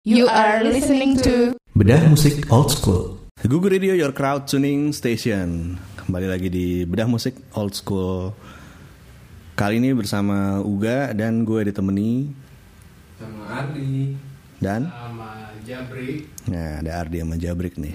You are listening to Bedah Musik Old School. Google Radio, your crowd tuning station. Kembali lagi di Bedah Musik Old School. Kali ini bersama Uga dan gue ditemani sama Ardi dan sama Jabrik. Nah, ada Ardi sama Jabrik nih.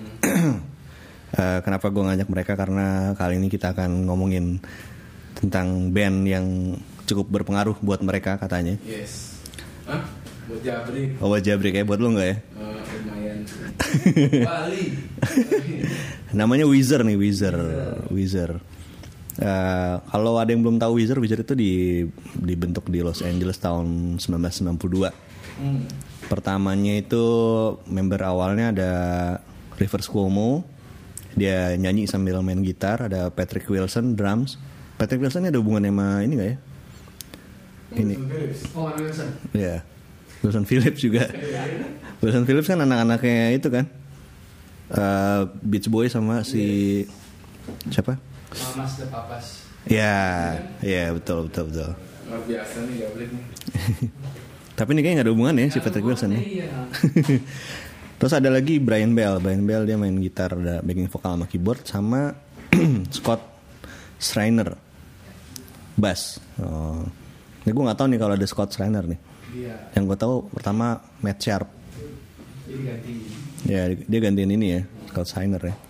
Kenapa gue ngajak mereka? Karena kali ini kita akan ngomongin tentang band yang cukup berpengaruh buat mereka katanya. Yes. Hah? Buat Jabrik. Oh, buat Jabrik ya, buat lo nggak ya? Lumayan. Bali. Namanya Weezer nih, Weezer. Kalau ada yang belum tahu Weezer itu dibentuk di Los Angeles tahun 1992. Pertamanya itu member awalnya ada Rivers Cuomo, dia nyanyi sambil main gitar. Ada Patrick Wilson drums. Patrick Wilson ini ada hubungannya sama ini nggak ya? Ini. Oh, Wilson. Ya, Wilson Phillips juga. Wilson Phillips kan anak-anaknya itu kan, Beach Boy sama si siapa? Mamas the Papas. Ya betul. Luar biasa nih Jabrik nih. Tapi ini kayaknya nggak ada hubungan ya si Patrick Wilson ya. Iya. Terus ada lagi Brian Bell dia main gitar, ada backing vokal sama keyboard, sama Scott Schreiner bass. Ini gue nggak tahu nih kalau ada Scott Schreiner nih. Iya. Yang gue tahu pertama Matt Sharp. Jadi ganti. Ya dia gantiin ini ya, Scott Schreiner ya.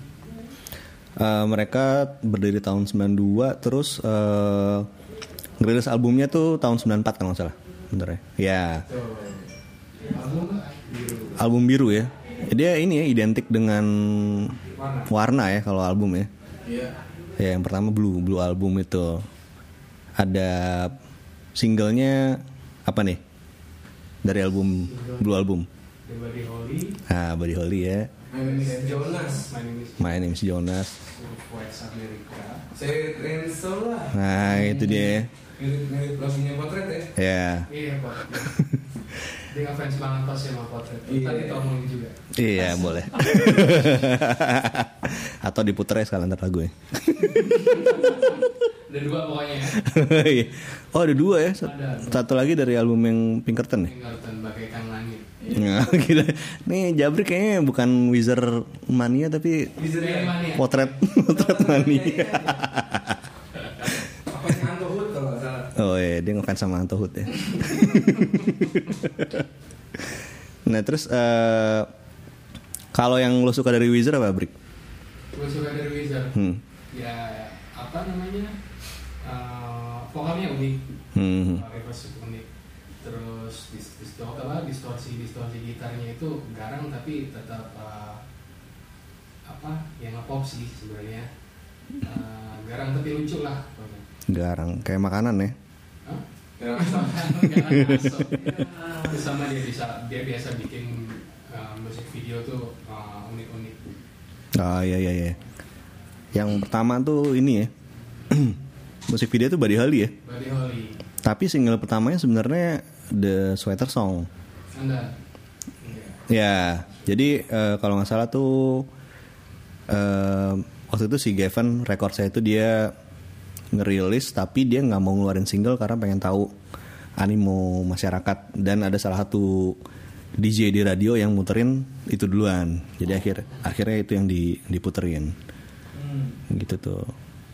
Mereka berdiri tahun 92, terus ngerilis albumnya tuh tahun 94 kalau nggak salah. Bentar ya. Ya. Album biru ya. Dia ini ya identik dengan warna ya kalau album ya. Iya. Ya yang pertama Blue album itu. Ada singlenya apa nih? Dari album Blue album. The Buddy Holly. Buddy Holly ya. My name is Jonas. My name is Jonas. West America. Saya Renzo lah. Nah itu dia. Mirip lagunya Potret ya. Ya. Iya Potret. Dia ngefans banget pas sama Potret. Tadi ngomongin juga. Iya boleh. Atau diputer ya sekalian ntar lagu ya. Ada dua pokoknya ya. Oh ada dua ya. Ada. Satu lagi dari album yang Pinkerton nih. Pinkerton Bagaikan Langit. Nah, gila. Nih Jabrik kayaknya bukan Wizard Mania tapi Mania. Potret Mania. Apanya Anto Hood kalau nggak salah. Oh iya, dia ngefans sama Anto Hood ya. Nah terus kalau yang lo suka dari Wizard apa, Brik? Gue suka dari Wizard. Ya apa namanya? Vokalnya unik. Reverse unik. Terus distorsi gitarnya itu garang tapi tetap yang nge-pop sih sebenarnya. Garang tapi lucu lah. Garang kayak makanan ya. Garang masuk. Terus sama dia biasa bikin musik video tuh unik-unik. Iya. Yang pertama tuh ini ya. Musik video tuh Buddy Holly ya. Buddy Holly. Tapi single pertamanya sebenarnya The Sweater Song. Anda. Ya, jadi kalau nggak salah tuh waktu itu si Gavin record saya itu dia ngerilis tapi dia nggak mau ngeluarin single karena pengen tahu animo masyarakat, dan ada salah satu DJ di radio yang muterin itu duluan. Jadi akhirnya itu yang diputerin. Gitu tuh.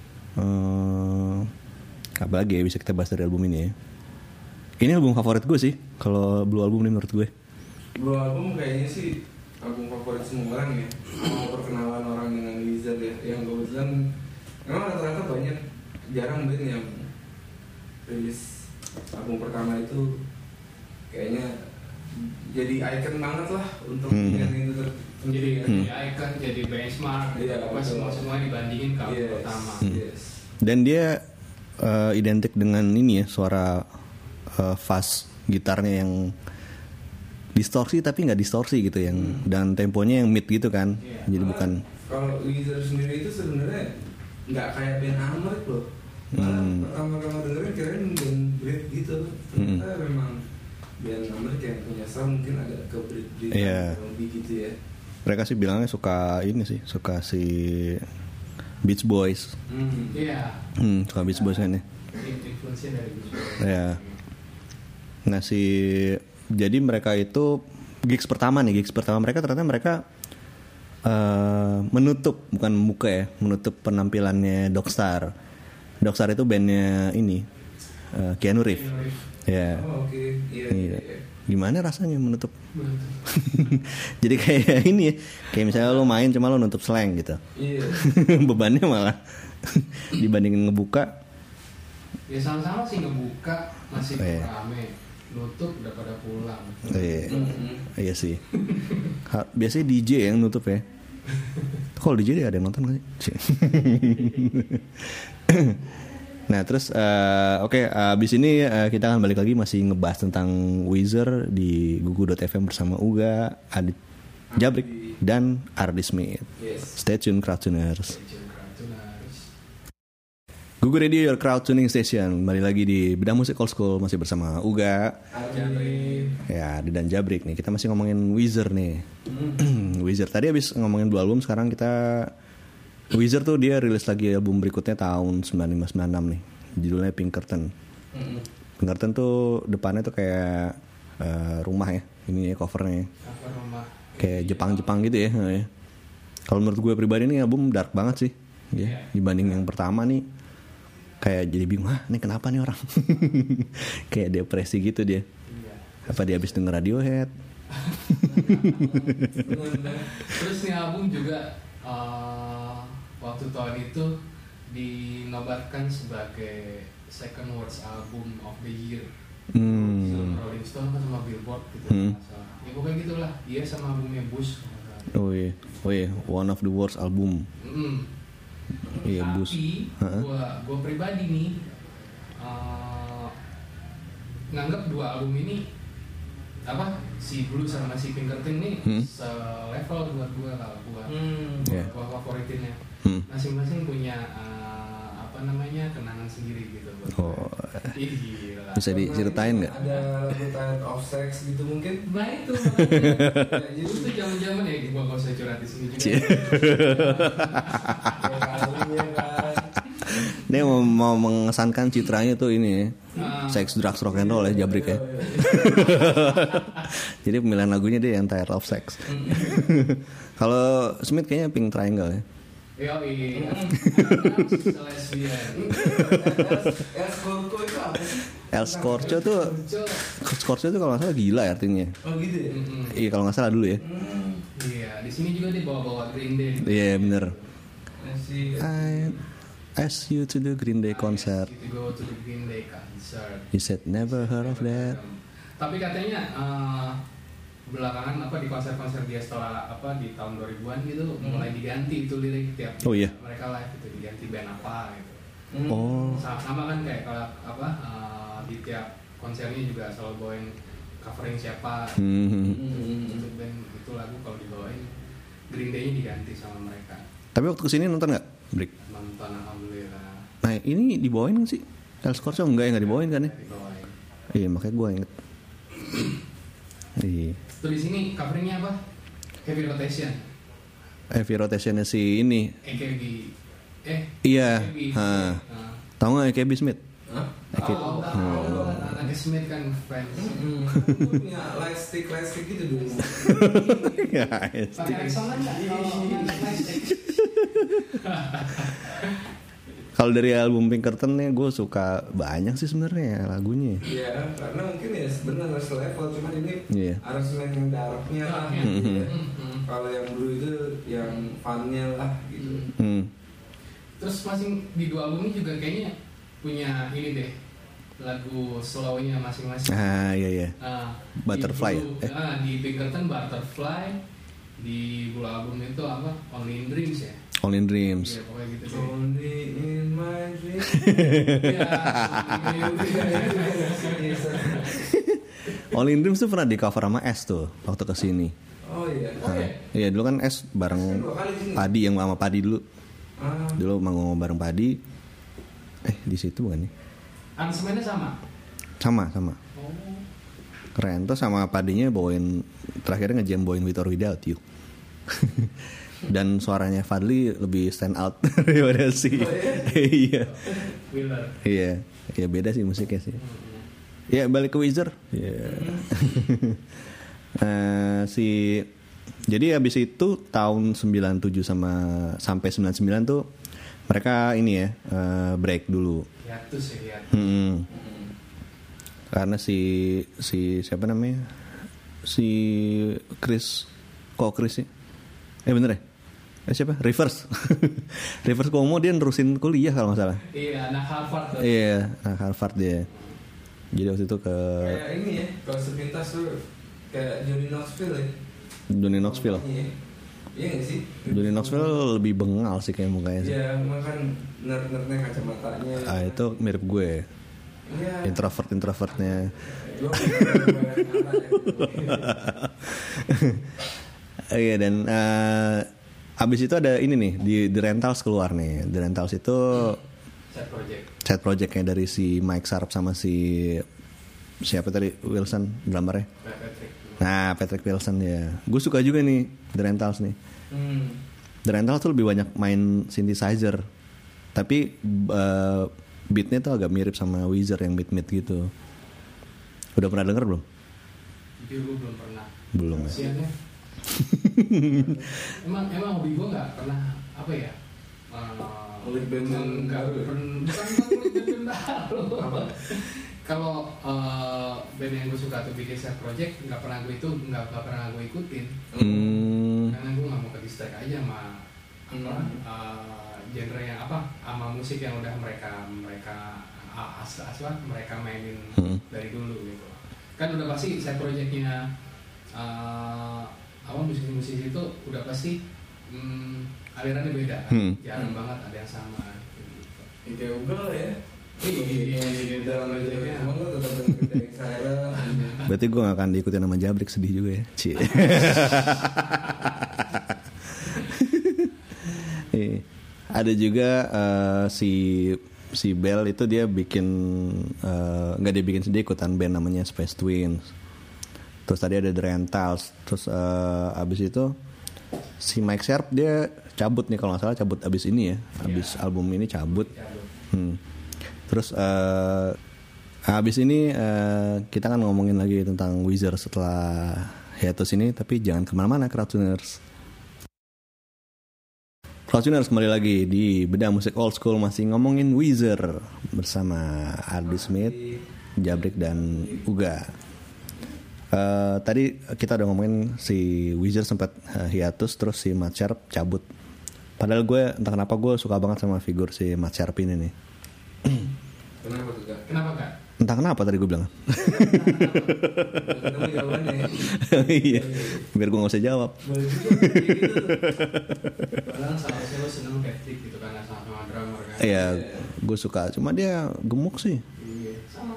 Apa lagi ya bisa kita bahas dari album ini ya? Ini album favorit gue sih, kalau Blue album ini menurut gue. Blue album kayaknya sih album favorit semua orang ya. Mau perkenalan orang dengan Wizard ya, yang kebetulan memang rata-rata banyak, jarang band yang rilis album pertama itu kayaknya jadi icon banget lah untuk band itu menjadi icon, jadi benchmark. Apa semua dibandingin ke album pertama. Dan dia identik dengan ini ya, suara fuzz gitarnya yang distorsi tapi nggak distorsi gitu yang dan temponya yang mid gitu kan. Jadi bukan. Kalau Wizard sendiri itu sebenarnya nggak kayak band Amrik loh. Pertama-tama dengerin kirain band Brit gitu. Ternyata memang band Amrik yang punya sound mungkin agak ke Brit lebih gitu ya. Mereka sih bilangnya suka si Beach Boys. Suka Beach Boys kan ya. Influence dari Beach Boys. Ya. Nah si Jadi mereka itu gigs pertama mereka ternyata mereka menutup, bukan buka ya, menutup penampilannya Dogstar. Dogstar itu bandnya ini Keanu Reeves. Ya. Oh, oke. Iya. Gimana rasanya menutup? Jadi kayak ini ya, kayak misalnya lo main cuma lo nutup slang gitu. Iya. Bebannya malah dibandingin ngebuka. Ya sama-sama sih, ngebuka masih rame, nutup udah pada pulang. Iya sih. Biasanya DJ yang nutup ya. Kalau DJ ada yang nonton gak sih? Nah terus abis ini kita akan balik lagi masih ngebahas tentang Weezer di gugu.fm bersama Uga, Adit Jabrik dan Ardi Smith. Stay tune Crowdtuners. Gugu Radio, your crowd tuning station. Kembali lagi di Bedah Musik Old School, masih bersama Uga, ya, Adi dan Jabrik nih. Kita masih ngomongin Weezer nih. Weezer tadi abis ngomongin 2 album, sekarang kita Weezer tuh dia rilis lagi album berikutnya tahun 95-96 nih. Judulnya Pinkerton. Pinkerton tuh depannya tuh kayak rumah ya. Ini ya covernya. Kayak Jepang-Jepang gitu ya. Kalau menurut gue pribadi nih album dark banget sih. Ya, dibanding yang pertama nih. Kayak jadi bingung, ini kenapa nih orang? Kayak depresi gitu dia. Apa dia habis denger Radiohead? Terus nih album juga waktu tahun itu dinobatkan sebagai second worst album of the year. Sama Rolling Stone kan sama Billboard gitu. Ya pokoknya gitulah. Dia sama albumnya Bush. Oh iya, one of the worst album. Iya, Bush. Tapi gua pribadi nih nganggap 2 album ini si Blue sama si Pinkerton ini selevel buat gua, kalau gua favoritinnya. Masing-masing punya kenangan sendiri gitu buat gila. Bisa diceritain nggak? Ada lagu Tired of Sex gitu mungkin? Nah itu itu zaman-zaman ya, gua nggak usah curhat di sini juga. Dia mau mengesankan citranya tuh ini, sex, drugs, rock and roll ya Jabrik ya. Jadi pemilihan lagunya dia yang Tired of Sex. Kalau Smith kayaknya Pink Triangle ya. Iya. El Scorcho tuh kalau nggak salah gila ya artinya. Oh gitu ya? Iya kalau nggak salah dulu ya. Iya, di sini juga dia bawa Green Day. Iya bener. Masih. I asked you to the Green Day concert. To go to the Green Day concert. You said never heard of that. Tapi katanya belakangan di konser-konser dia setelah di tahun 2000-an gitu mulai diganti itu lirik tiap mereka live itu diganti band apa gitu. Sama kan kayak kalau di tiap konsernya juga selalu bawain covering siapa. Untuk band itu lagu kalau dibawain Green Day-nya diganti sama mereka. Tapi waktu kesini nonton nggak, Brik? Nonton, alhamdulillah. Nah ini dibawain nggak sih? El Scorcho nggak dibawain kan ya? Dibawain. Iya makanya gue inget. Iya. Tuh di sini coveringnya apa? Heavy Rotation. Heavy Rotationnya si ini. AKB. Iya. Tahu nggak AKB Smith? Tahu. Anak Smith kan fans. Punya lightstick gitu dulu. Pakai Rexona nggak? Kalau dari album Pinkerton nih gue suka banyak sih sebenarnya lagunya. Iya, karena mungkin ya sebenarnya selevel, cuman ini aransemen yang darknya lah. Kalau yang Blue itu yang funnya lah gitu. Terus masing di 2 album ini juga kayaknya punya ini deh, lagu slownya masing-masing. Iya. Butterfly. Di Pinkerton Butterfly, di Blue album itu Only in Dreams ya. Only in Dreams. Iya, pokoknya gitu deh. Only in my dreams. Only in Dreams tuh pernah di cover sama S tuh waktu kesini. Oh iya. Iya dulu kan S bareng Padi yang sama Padi dulu. Dulu manggung bareng Padi. Di situ bukan nih? Aransemennya sama. Sama. Keren tuh, sama Padinya bawain terakhirnya ngejam bawain With or Without You. Dan suaranya Fadli lebih stand out daripada sih. Iya. Iya beda sih musiknya sih. Ya balik ke Weezer. Jadi abis itu tahun 97 sampai 99 tuh mereka ini ya break dulu. Hiatus ya. Karena si siapa namanya? Si Chris sih? Bener ya? Siapa? Rivers. Rivers Cuomo dia nerusin kuliah kalau nggak salah. Iya, anak Harvard. Iya, anak Harvard dia. Jadi waktu itu kayak ini ya, kalau sepintas tuh kayak Johnny Knoxville ya. Johnny Knoxville. Iya nggak sih? Johnny Knoxville lebih bengal sih kayak mukanya sih. Iya, makan nerd-nerdnya kacamatanya. Itu mirip gue. Iya. Introvertnya. Iya dan abis itu ada ini nih di The Rentals keluar nih. The Rentals itu side projectnya dari si Mike Sharp sama si siapa tadi Wilson drummernya. Patrick Wilson ya. Gue suka juga nih The Rentals nih. The Rentals tuh lebih banyak main synthesizer. Tapi beatnya tuh agak mirip sama Weezer yang mid gitu. Udah pernah denger belum? Jujur gue belum pernah. Belum ya. Siannya. emang hobi gue nggak pernah apa ya? Ngulik band baru. Bukan baru. Kalau band yang gue suka tuh bikin side project nggak pernah gue ikutin. Karena gue nggak mau ke distract aja sama genre yang sama musik yang udah mereka mereka mainin dari dulu gitu. Kan udah pasti side projectnya musisi-musisi itu udah pasti alirannya beda kan? Jarang banget ada yang sama gitu. Kayak Google ya. Iya, dalam aja emang lo tetap dengerin saya. Berarti gue gak akan diikutin sama Jabrik, sedih juga ya. Ada juga si Bell itu dia bikin nggak dia bikin sendiri, ikutan band namanya Space Twins. Terus tadi ada The Rentals. Terus abis itu si Mike Sharp dia cabut nih kalau nggak salah, cabut abis ini ya, abis album ini cabut. Terus abis ini kita kan ngomongin lagi tentang Weezer setelah hiatus ini, tapi jangan kemana-mana Crowdtuners. Crowdtuners kembali lagi di Bedah Musik Old School, masih ngomongin Weezer bersama Ardi Smith, Jabrik dan Uga. Tadi kita udah ngomongin si Weezer sempat hiatus, terus si Matt Sharp cabut. Padahal gue entah kenapa gue suka banget sama figur si Matt Sharp ini nih. Kenapa tuh Kak? Kenapa Kak? Entah kenapa tadi gue bilang. Ketemu jawabannya. Iya. Biar gue gak usah jawab. Boleh juga gitu. Padahal seharusnya lo seneng Patrick gitu kan, sama drummer kan. Iya, gue suka. Cuma dia gemuk sih. Iya, sama.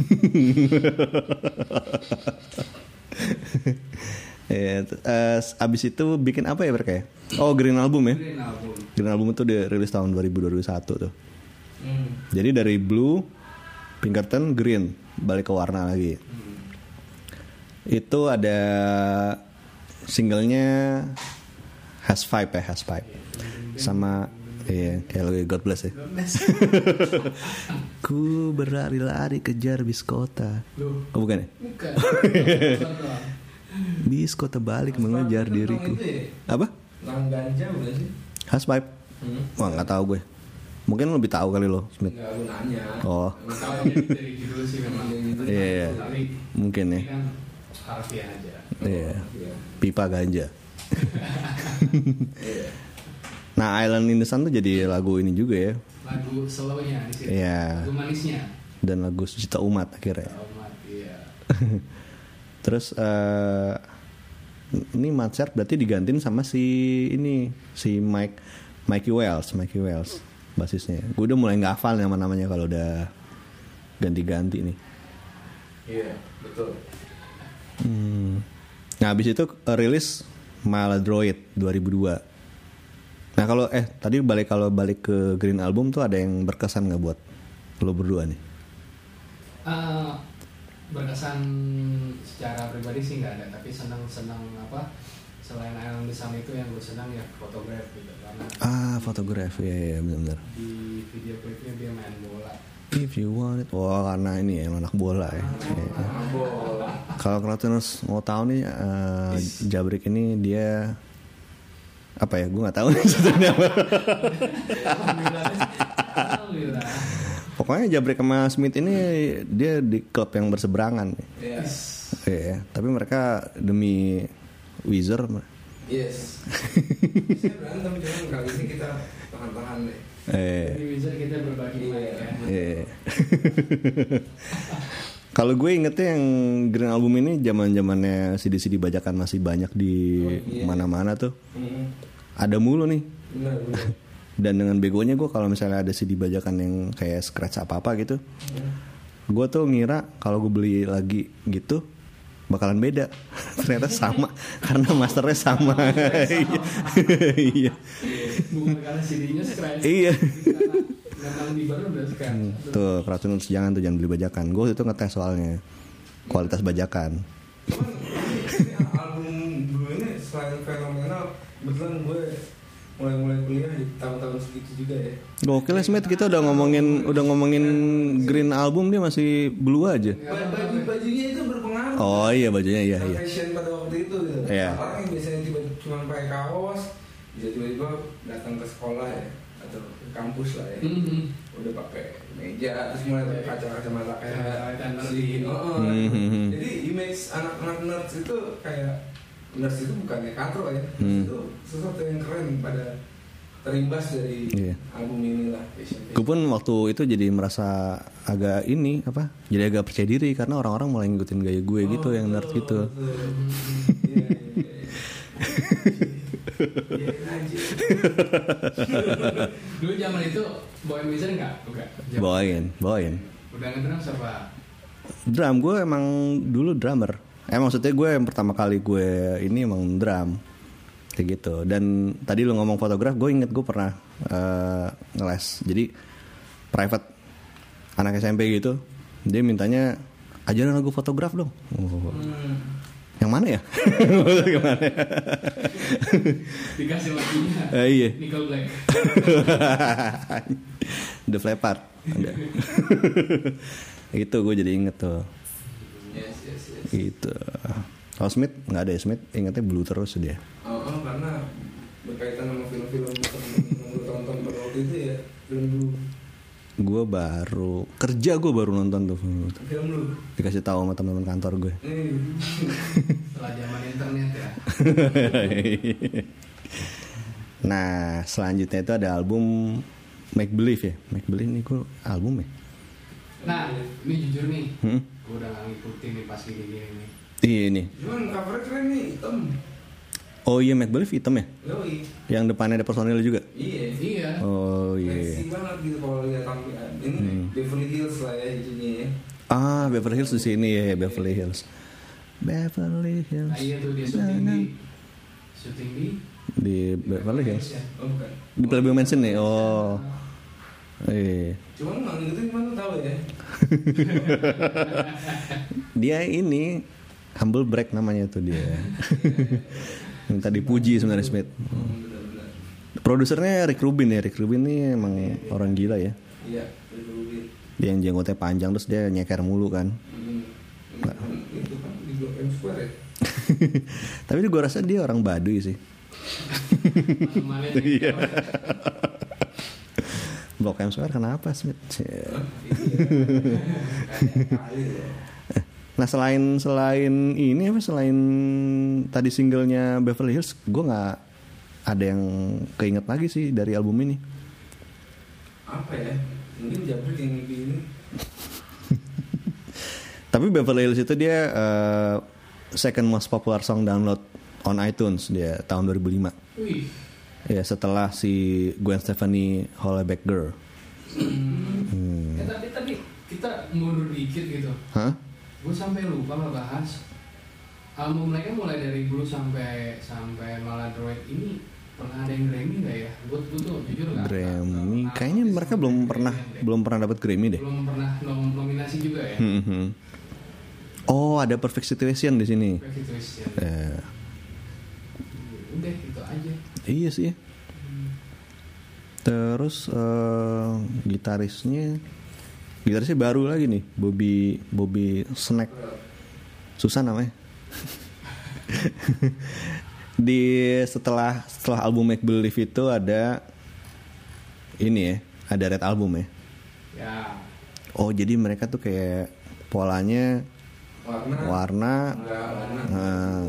Abis itu bikin apa ya mereka ya? Oh, Green Album ya? Green Album itu dirilis tahun 2021 tuh. Jadi dari Blue, Pinkerton, Green, balik ke warna lagi. Itu ada singlenya Has Vibe ya, Has Vibe. Sama kayak lagu God Bless ya. Ku berlari-lari kejar bis kota. Oh bukan ya? Bukan. Bis kota balik mengejar diriku. Apa? Lang ganja bukan sih? Has Vibe. Wah nggak tahu gue. Mungkin lebih tahu kali lo, Smith. Enggak, aku nanya. Oh. Tahu dari judul sih memang. Iya. Mungkin ya. Ini kan harfiah aja. Iya. Pipa ganja. Nah, Island in the Sun tuh jadi lagu ini juga ya. Lagu slownya di situ. Iya. Lagu manisnya. Dan lagu Sejuta Umat akhirnya. Umat, iya. Terus ini Matt Sharp berarti digantiin sama si Mikey Wells basisnya. Gue udah mulai nggak hafal nama-namanya kalau udah ganti-ganti nih. Iya, betul. Nah abis itu rilis Maladroid 2002. Nah kalau tadi balik ke Green Album tuh ada yang berkesan nggak buat lo berdua nih? Berkesan secara pribadi sih nggak ada, tapi senang apa? Selain Island the Sun itu yang gue senang ya Photograph gitu, karena Photograph ya benar-benar. di video klipnya dia main bola If you want it. Wah, karena ini ya anak bola ya. Kalau Kratuners mau tahu nih, Jabrik ini dia apa ya? Gue nggak tahu nih sebenarnya apa. Pokoknya Jabrik sama Smith ini dia di klub yang berseberangan. Iya. Tapi mereka demi Wizard. Yes. Saya berantem, cuman kali ini kita tahan-tahan deh. Di Wizard kita berbagi ya. Kalau gue ingetnya yang Green Album ini zaman-zamannya CD-CD bajakan masih banyak di mana-mana tuh. Ada mulu nih. Benar. Dan dengan begonya gue kalau misalnya ada CD bajakan yang kayak scratch apa-apa gitu, gue tuh ngira kalau gue beli lagi gitu bakalan beda. Ternyata sama karena masternya sama. Iya. Bukan karena CD-nya scratch. Iya. Memang di baru udah scratch. Tuh Kratuners jangan beli bajakan. Gue itu ngetes soalnya kualitas bajakan. Cuman ini album dulu ini selain fenomenal, betulan gue mulai kuliah di tahun-tahun segitu juga ya. Gokil ya Smith, kita udah ngomongin Green Album dia masih blue aja. Bajunya itu berpengaruh. Oh iya bajunya iya. Fashion pada waktu itu gitu. Iya. Orang yang biasanya cuma pakai kaos, bisa tiba-tiba datang ke sekolah ya atau ke kampus lah ya. Udah pakai meja, terus mulai pakai kacamata kayak si. Jadi image anak-anak nerds itu kayak nerds itu bukannya katro ya. Itu sesuatu yang keren pada terimbas dari album inilah. Gue pun waktu itu jadi merasa agak ini apa? Jadi agak percaya diri karena orang-orang mulai ngikutin gaya gue gitu yang nerd gitu. Dulu zaman itu bawain Wizard nggak? Bawain. Udah ngedrum siapa? Drum, gue emang dulu drummer. Maksudnya gue yang pertama kali gue ini emang drum kayak gitu. Dan tadi lu ngomong fotograf, gue inget gue pernah ngeles. Jadi private anak SMP gitu, dia mintanya ajarin lagu fotograf dong. Yang mana ya? Gimana? Dikasih lagunya. Iya. Nickel Black. The Flappard. Itu gue jadi inget tuh. Yes. Gitu. Kalau Smith nggak ada ya, Smith ingetnya blue terus dia. Karena berkaitan sama film-film yang tonton pada waktu itu ya, film dulu. Gue baru nonton tuh film lu. Dikasih tahu sama teman-teman kantor gue. Setelah zaman internet ya. Nah selanjutnya itu ada album Make Believe ya. Make Believe ini gue album ya. Nah ini jujur nih, gue udah gak ngikutin nih pas gini-gini nih. Iya ini. Cuman covernya keren nih, hitam. Oh iya, Make Believe hitam ya? Yoi. Yang depannya ada personil juga? Iya. Oh iya. Seksi banget gitu kalau lihat tampilan. Ini Beverly Hills lah ya jadinya ya. Beverly Hills di sini ya, Beverly Hills. Beverly Hills. Nah iya tuh dia syuting di Beverly Hills. Oh bukan. Di Playboy Mansion nih. Oh. Iya. Cuman nggak ngikutin gimana tahu ya. Dia ini Humble Break namanya tuh dia. Minta dipuji sebenarnya Smith. Produsernya Rick Rubin ya. Rick Rubin ini emang orang gila ya. Iya, Rick Rubin. Dia yang jenggotnya panjang terus dia nyeker mulu kan. Itu kan di Blok M Square ya. Tapi gue rasa dia orang Baduy sih. Iya. Blok M Square kenapa Smith? Nah selain ini apa selain tadi singlenya Beverly Hills, gue nggak ada yang keinget lagi sih dari album ini. Apa ya? Mungkin Jabrik yang ini. Tapi Beverly Hills itu dia second most popular song download on iTunes dia tahun 2005. Wih. Ya setelah si Gwen Stefani Hollaback Girl. Tapi kita mundur dikit gitu. Hah? Gue sampai lupa ngebahas album mereka mulai dari Blue sampai Maladroid ini pernah ada yang Grammy nggak ya? Gue tuh jujur nggak. Grammy, kayaknya mereka belum pernah dapat Grammy deh. Belum pernah nominasi juga ya. Oh ada Perfect Situation di sini. Perfect Situation. Udah itu aja. Iya sih. Terus gitarisnya Gitarisnya baru lagi nih, Bobby Snack. Susah namanya. Setelah album Make Believe itu ada ini ya, ada Red Album ya. Ya. Oh, jadi mereka tuh kayak polanya warna. Nah,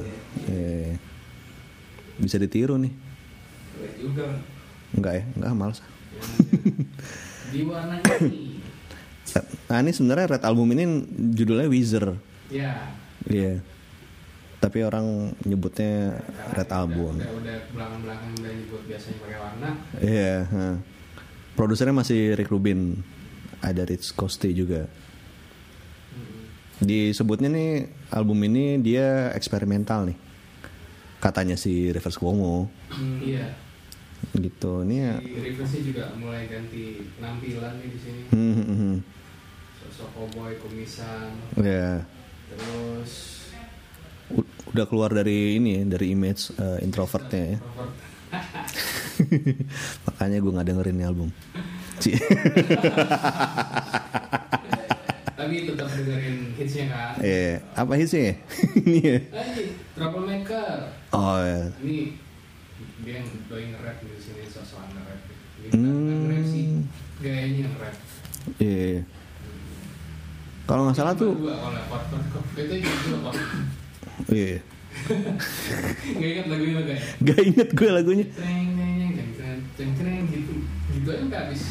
bisa ditiru nih. Juga. Enggak ya, enggak males. Di warna ini. Nah, ini sebenarnya Red Album ini judulnya Weezer. Ya. Iya. Tapi orang nyebutnya Red Album. Udah belakang-belakang udah nyebut biasanya pakai warna. Iya. Produsernya masih Rick Rubin. Ada Rich Costey juga. Disebutnya nih album ini dia eksperimental nih. Katanya si Rivers Cuomo. Iya. Gitu. Ini ya. Si Rivers juga mulai ganti penampilan nih di sini. Sosok cowboy kumisan. Iya. Terus udah keluar dari ini ya, dari image introvertnya ya. Makanya gue nggak dengerin ini album. Tapi tetap dengerin hitsnya kan? Apa hitsnya? Ini ya. Troublemaker. Oh ya. Ini dia yang doi nge-rap di sini, sosok nge-rap. Nge-rap sih, gayanya nge-rap. Iya. Kalau nggak salah tuh. Itu juga kok. Iya. Gak ingat lagunya lo kayak? Gak inget gue lagunya. Ceng gitu, gitu aja nggak habis.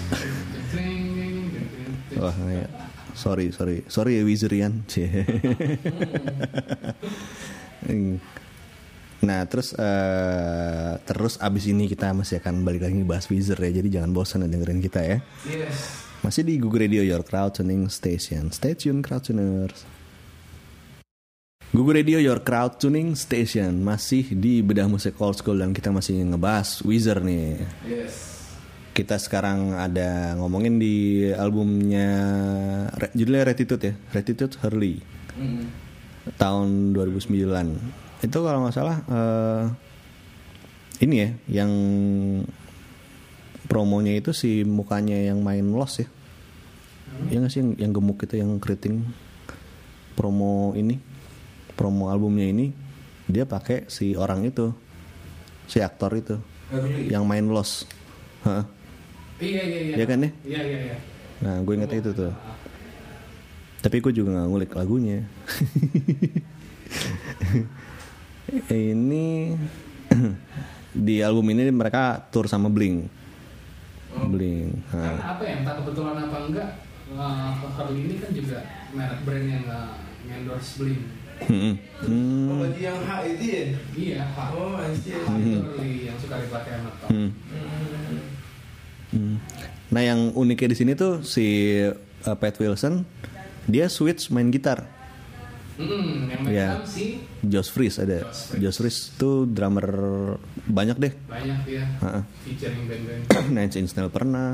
Wah, ya. Sorry ya Wizerian. Nah terus abis ini kita masih akan balik lagi bahas Weezer ya. Jadi jangan bosan dengerin kita ya. Yes. Masih di Google Radio, your crowd tuning station. Stay tune crowd tuners. Google Radio, your crowd tuning station. Masih di bedah musik old school dan kita masih ngebahas Weezer nih. Yes. Kita sekarang ada ngomongin di albumnya judulnya Retitude ya, Retitude Hurley. Tahun 2009. Itu kalau nggak salah ini ya, yang promonya itu si mukanya yang main Lost ya. Ya nggak sih yang gemuk itu, yang keriting. Promo albumnya ini dia pakai si orang itu, si aktor itu yang main Lost. Iya. Ya kan ya? Iya. Nah, gue inget itu tuh. Tapi gue juga nggak ngulik lagunya. Ini di album ini mereka tour sama Blink. Karena apa ya? Entah kebetulan apa enggak. Harley ini kan juga merek brand yang endorse Blink. Oh, baju yang H itu ya? Iya, H. Oh, anjir. Harley yang suka dipakai sama Tom. Nah, yang uniknya di sini tuh si Pat Wilson dia switch main gitar. Yang main si Josh Freese ada. Josh Freese tuh drummer banyak deh. Banyak ya. Featuring band-band. Nine Inch Nails pernah.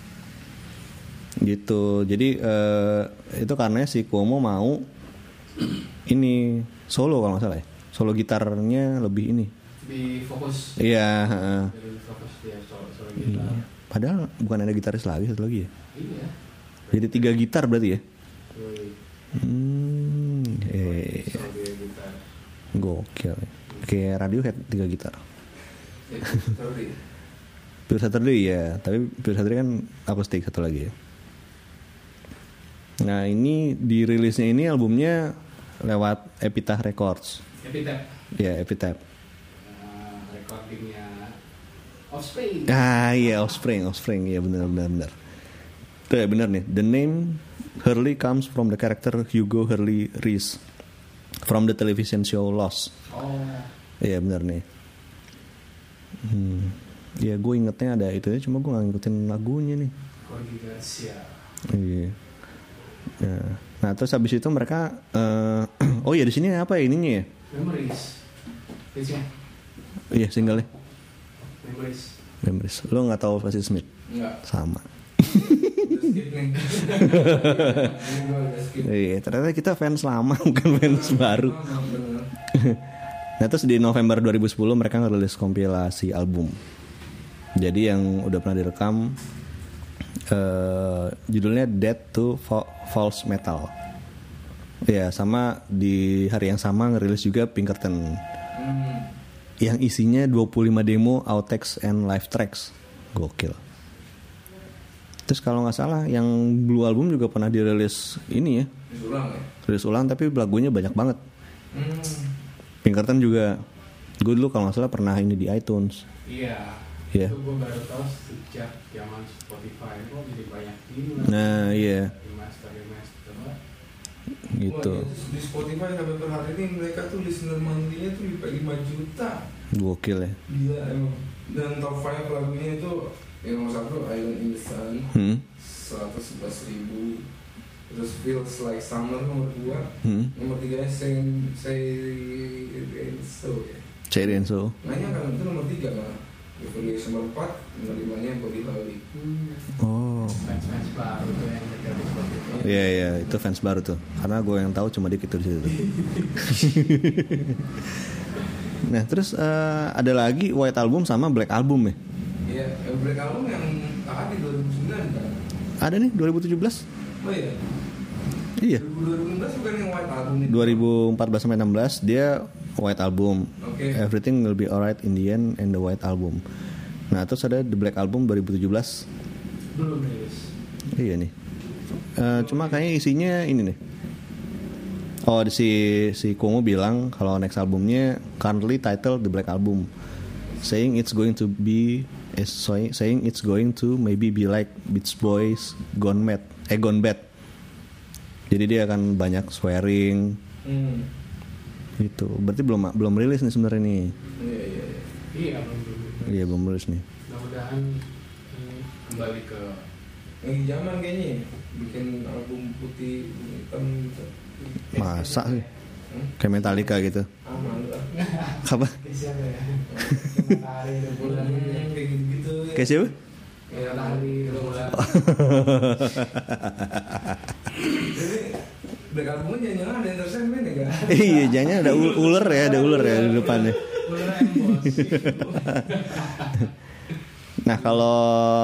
Gitu. Jadi itu karena si Cuomo mau ini solo kalau nggak salah ya. Solo gitarnya lebih ini. Di fokus. Iya. Di fokus dia solo gitar. Iya. Padahal bukan ada gitaris lagi, satu lagi ya. Iya. Jadi 3 gitar berarti ya. Gokil. Kayak Radiohead 3 gitar. Pure Saturday ya, tapi Pure Saturday kan akustik satu lagi ya. Nah, ini dirilisnya ini albumnya lewat Epitaph Records. Epitaph. Ya, Epitaph. Recordingnya Offspring. Iya, Offspring. Iya, benar. Tuh ya, benar nih. The name Hurley comes from the character Hugo Hurley Reese from the television show Lost. Oh. Iya, benar nih. Ya, gue ingetnya ada itu ya, cuma gue nggak ngikutin lagunya nih. Corgi Garcia. Iya. Nah, terus habis itu mereka oh ya di sini apa ya ininya ya? Memories. Iya, singlenya. Memories. Lo nggak tahu Patti Smith? Enggak. Sama. Skip nih. Iya, ternyata kita fans lama bukan fans baru. Nah, terus di November 2010 mereka ngerilis kompilasi album. Jadi yang udah pernah direkam Judulnya Dead to False Metal. Ya, sama di hari yang sama ngerilis juga Pinkerton. Yang isinya 25 demo, outtakes and live tracks. Gokil. Terus kalau nggak salah yang Blue Album juga pernah dirilis ini ya. Rilis ulang tapi lagunya banyak banget. Pinkerton juga. Gue dulu kalau nggak salah pernah ini di iTunes. Iya. Yeah. Itu gue baru tahu sejak zaman Spotify kok jadi banyak ini. Nah iya. Remaster Gitu. Wah, di Spotify sampai per hari ini mereka tuh listener monthly-nya tuh 5 juta. Gokil ya. Gila emang. Dan top 5 lagunya itu yang nomor 1 Island in the Sun 111.000. Terus Feels Like Summer nomor 2. Nomor 3 Say So ya. Say So. Nanya kan itu nomor 3 malah. Evaluation nomor 4, nomor 5-nya Bobby Howley. Oh. Fans baru tuh yang ada di Spotify. Iya, itu fans baru tuh. Karena gue yang tahu cuma dikit tuh di situ. Nah, terus ada lagi White Album sama Black Album ya? Iya, Black Album yang di 2009 kan? Ada nih 2017. Oh iya. Iya. 2016 bukan yang White Album itu. 2014 sampai 16 dia White Album. Okay. Everything Will Be Alright in the End and the White Album. Nah, terus ada The Black Album 2017. Belum rilis. Iya nih. Cuma kayaknya isinya ini nih. Oh, si Kongo bilang kalau next albumnya currently titled The Black Album, saying it's going to maybe be like Beach Boys Gone Bad. Jadi dia akan banyak swearing. Gitu. Berarti belum rilis nih sebenarnya nih. Iya, belum rilis nih. Mudah-mudahan kembali ke yang zaman kayaknya bikin album putih hitam gitu. Masa sih? Kayak Metallica gitu. Aman lah. Apa? kayak siapa ya? Matahari bulan Kayak gitu-gitu ya. Kayak siapa? Matahari bulan. Jadi Black Albumnya jangan ada entertainment ya kan? Iya, jangan ada ular ya di depannya. Nah, kalau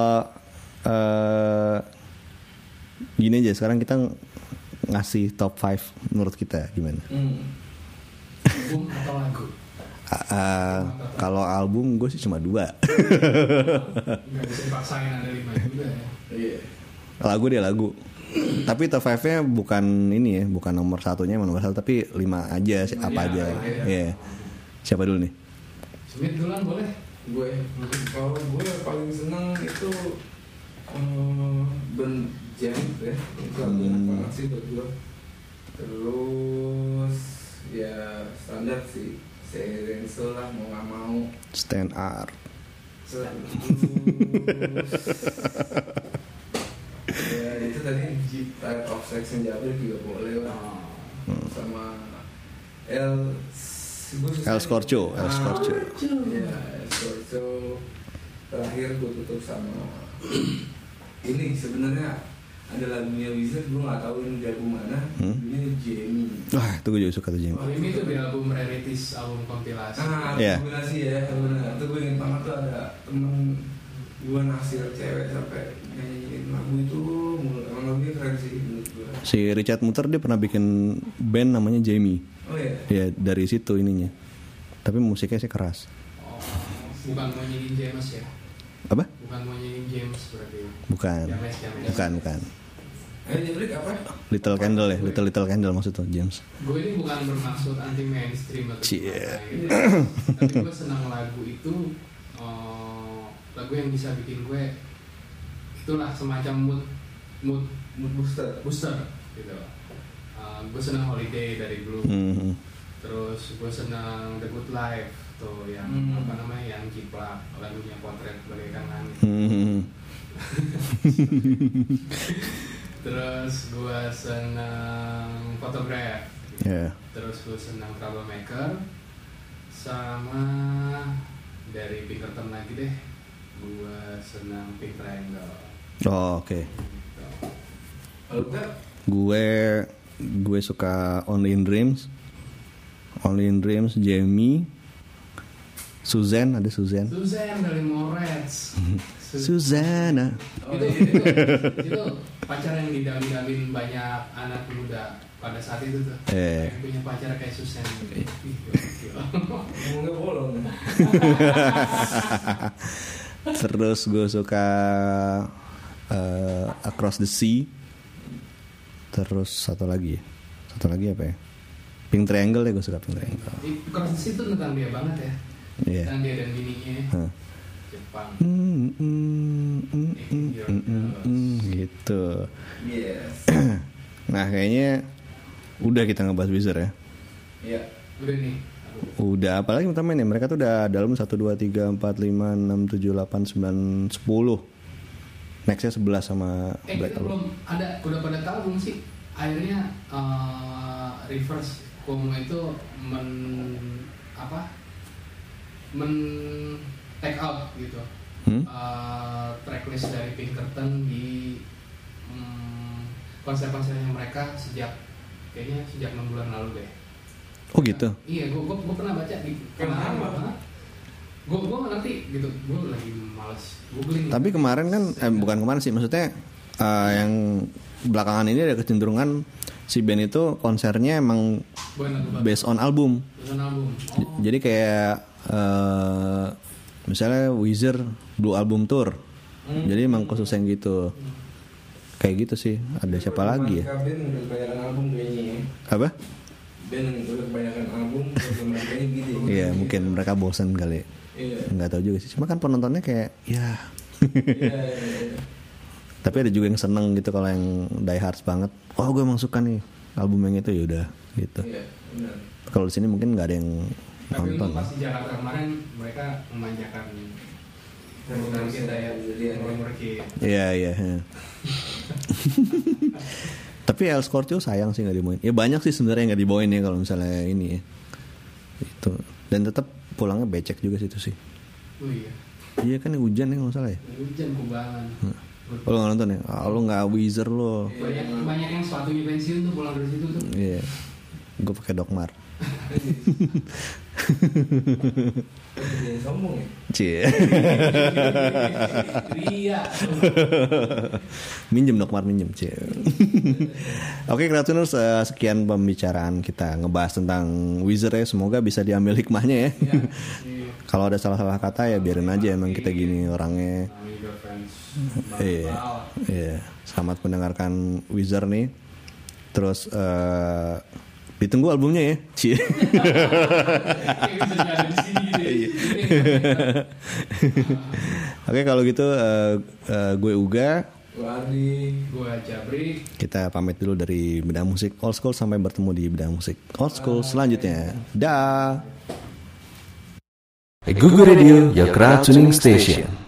gini aja, sekarang kita ngasih top 5 menurut kita gimana? Album atau lagu? Kalau album gue sih cuma 2. Nggak bisa dipaksain ada 5 juga ya. Iya. Lagu. Tapi top 5-nya bukan ini ya, bukan nomor 1-nya nomor 1, tapi 5 aja sih, apa aja. Iya. Siapa dulu nih? Smith duluan boleh. Kalau gue paling seneng itu band Jam ya, itu enak banget sih buat gue. Terus ya standar sih, Serenso lah mau nggak mau. Stand Art. Terus ya itu tadi Type of Sex and Jabber juga boleh lah. Sama El Scorcho. Ya, El Scorcho. Terakhir gue tutup sama ini sebenarnya ada lagunya Wizard, gue nggak tahu ini dari mana. Ini Jamie. Wah, itu gue juga suka tuh Jamie. Oh, ini tuh di album Rarities, album kompilasi. Kompilasi ya, benar. Itu gue inget banget tuh ada temen gue naksir cewek sampai nyanyiin lagu itu. Emang lagunya keren sih menurut gue. Si Richard Mutter dia pernah bikin band namanya Jamie. Oh iya. Ya dari situ ininya. Tapi musiknya sih keras. Oh, bukan mau nyanyiin James ya? Apa? Bukan mau nyanyiin James berarti. Bukan. Bukan. Jabrik apa? Little Candle ya, Little Candle maksudnya James. Gue ini bukan bermaksud anti mainstream atau Cie. gitu. Tapi gue senang lagu itu, lagu yang bisa bikin gue itulah semacam mood booster gitu. Gue senang Holiday dari Blue. Terus gue senang The Good Life tuh yang yang Ciplak, lagunya Potret Bagaikan Langit. Terus gue senang Photograph. Terus gue senang Troublemaker. Sama dari Pinkerton lagi deh, gue senang Pink Triangle. Oh, oke. Gue suka Only in Dreams, Jamie, Suzanne, ada Suzanne. Suzanne dari Moretz. Susana. Itu pacar yang didamin banyak anak muda pada saat itu tuh. Yang punya pacar kayak Suzanne. Ngomongnya bolong. Terus gue suka Across the Sea. Terus satu lagi apa ya? Pink Triangle ya, gue suka Pink Triangle. Across the Sea itu tentang dia banget ya. Iya. Tentang dia dan bininya. Jepang. Gitu. Yes. Nah kayaknya udah kita ngebahas Weezer ya. Iya. Udah nih. Udah, apalagi teman-teman ya, mereka tuh udah dalam 1, 2, 3, 4, 5, 6, 7, 8, 9, 10. Nextnya 11 sama Black Album. Belum ada, udah pada tahu belum sih? Akhirnya Reverse Cuomo itu take out gitu tracklist dari Pinkerton di konser-konsernya mereka kayaknya sejak 6 bulan lalu deh. Oh gitu? Iya, gue pernah baca di kenapa? Gue nggak ngerti gitu, gue lagi malas googling. Tapi kemarin kan, bukan kemarin sih, maksudnya yang belakangan ini ada kecenderungan si band itu konsernya emang based on album. Jadi kayak misalnya Weezer Blue Album Tour, jadi emang khusus yang gitu. Kayak gitu sih. Ada siapa lagi ya? Band udah kebanyakan album kayaknya ya. Apa? Band udah kebanyakan album, kayaknya gitu ya. Iya, mungkin mereka bosan kali. Iya. Nggak tahu juga sih. Cuma kan penontonnya kayak ya. Iya. Tapi ada juga yang seneng gitu kalau yang die hard banget. Oh, gue emang suka nih album yang itu, ya udah gitu. Iya, benar. Kalau di sini mungkin nggak ada yang tapi nonton. Tapi pas di Jakarta kemarin mereka memanjakan program kita ya, umur kita. Iya. Tapi El Scorpio sayang sih nggak dibawain. Ya banyak sih sebenarnya nggak dibawain ya kalau misalnya ini ya. Itu. Dan tetap pulangnya becek juga sih itu sih. Oh iya. Iya kan hujan ya kalau salah ya. Hujan kubangan. Oh, lo nggak nonton ya? Lo nggak Weezer lo. Banyak yang sepatunya pensiun tuh pulang dari situ tuh. Iya. Gue pakai Dokmar. Sombong ya? Cie. Iya. Minjem Dokmar, minjem. Cie. Oke, Kreatuners, sekian pembicaraan kita ngebahas tentang Weezer ya. Semoga bisa diambil hikmahnya ya. Kalau ada salah-salah kata ya biarin aja, emang kita gini orangnya. Iya. Selamat mendengarkan Weezer nih. Terus ditunggu albumnya ya. Cie. Oke, kalau gitu gue Uga, gue Ardi, gue Jabri. kita pamit dulu dari Bedah Musik Old School, sampai bertemu di Bedah Musik Old School selanjutnya. Dah. Google Radio, your crowd tuning station.